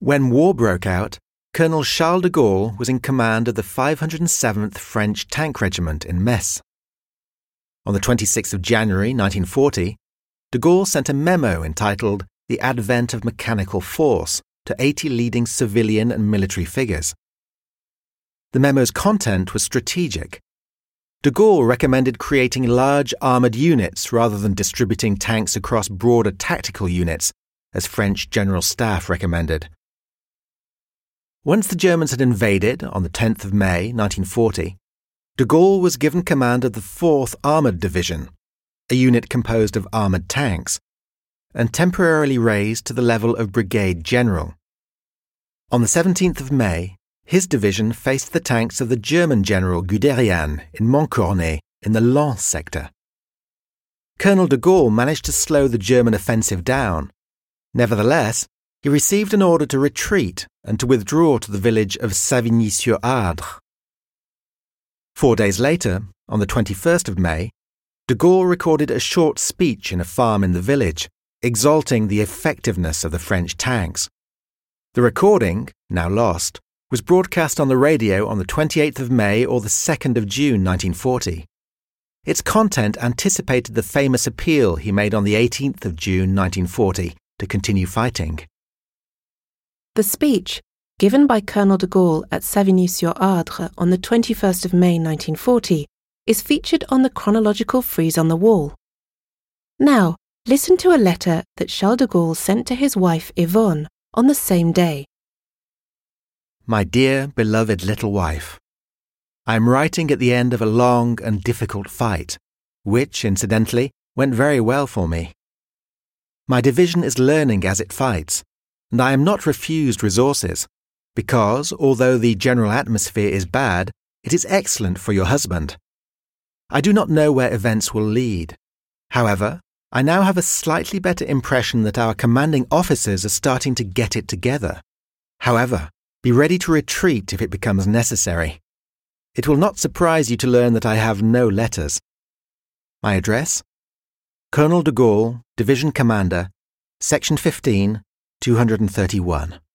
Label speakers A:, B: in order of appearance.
A: When war broke out, Colonel Charles de Gaulle was in command of the 507th French Tank Regiment in Metz. On the 26th of January 1940, de Gaulle sent a memo entitled The Advent of Mechanical Force to 80 leading civilian and military figures. The memo's content was strategic. De Gaulle recommended creating large armoured units rather than distributing tanks across broader tactical units, as French General Staff recommended. Once the Germans had invaded on the 10th of May 1940, de Gaulle was given command of the 4th Armoured Division, a unit composed of armoured tanks, and temporarily raised to the level of brigade general. On the 17th of May, his division faced the tanks of the German General Guderian in Montcornet in the Lens sector. Colonel de Gaulle managed to slow the German offensive down. Nevertheless, he received an order to retreat and to withdraw to the village of Savigny-sur-Ardres. 4 days later, on the 21st of May, de Gaulle recorded a short speech in a farm in the village, exalting the effectiveness of the French tanks. The recording, now lost, was broadcast on the radio on the 28th of May or the 2nd of June 1940. Its content anticipated the famous appeal he made on the 18th of June 1940 to continue fighting.
B: The speech, given by Colonel de Gaulle at Savigny-sur-Ardres on the 21st of May 1940, is featured on the chronological frieze on the wall. Now, listen to a letter that Charles de Gaulle sent to his wife Yvonne on the same day.
A: My dear, beloved little wife, I am writing at the end of a long and difficult fight, which, incidentally, went very well for me. My division is learning as it fights, and I am not refused resources, because, although the general atmosphere is bad, it is excellent for your husband. I do not know where events will lead. However, I now have a slightly better impression that our commanding officers are starting to get it together. However, be ready to retreat if it becomes necessary. It will not surprise you to learn that I have no letters. My address? Colonel de Gaulle, Division Commander, Section 15, 231.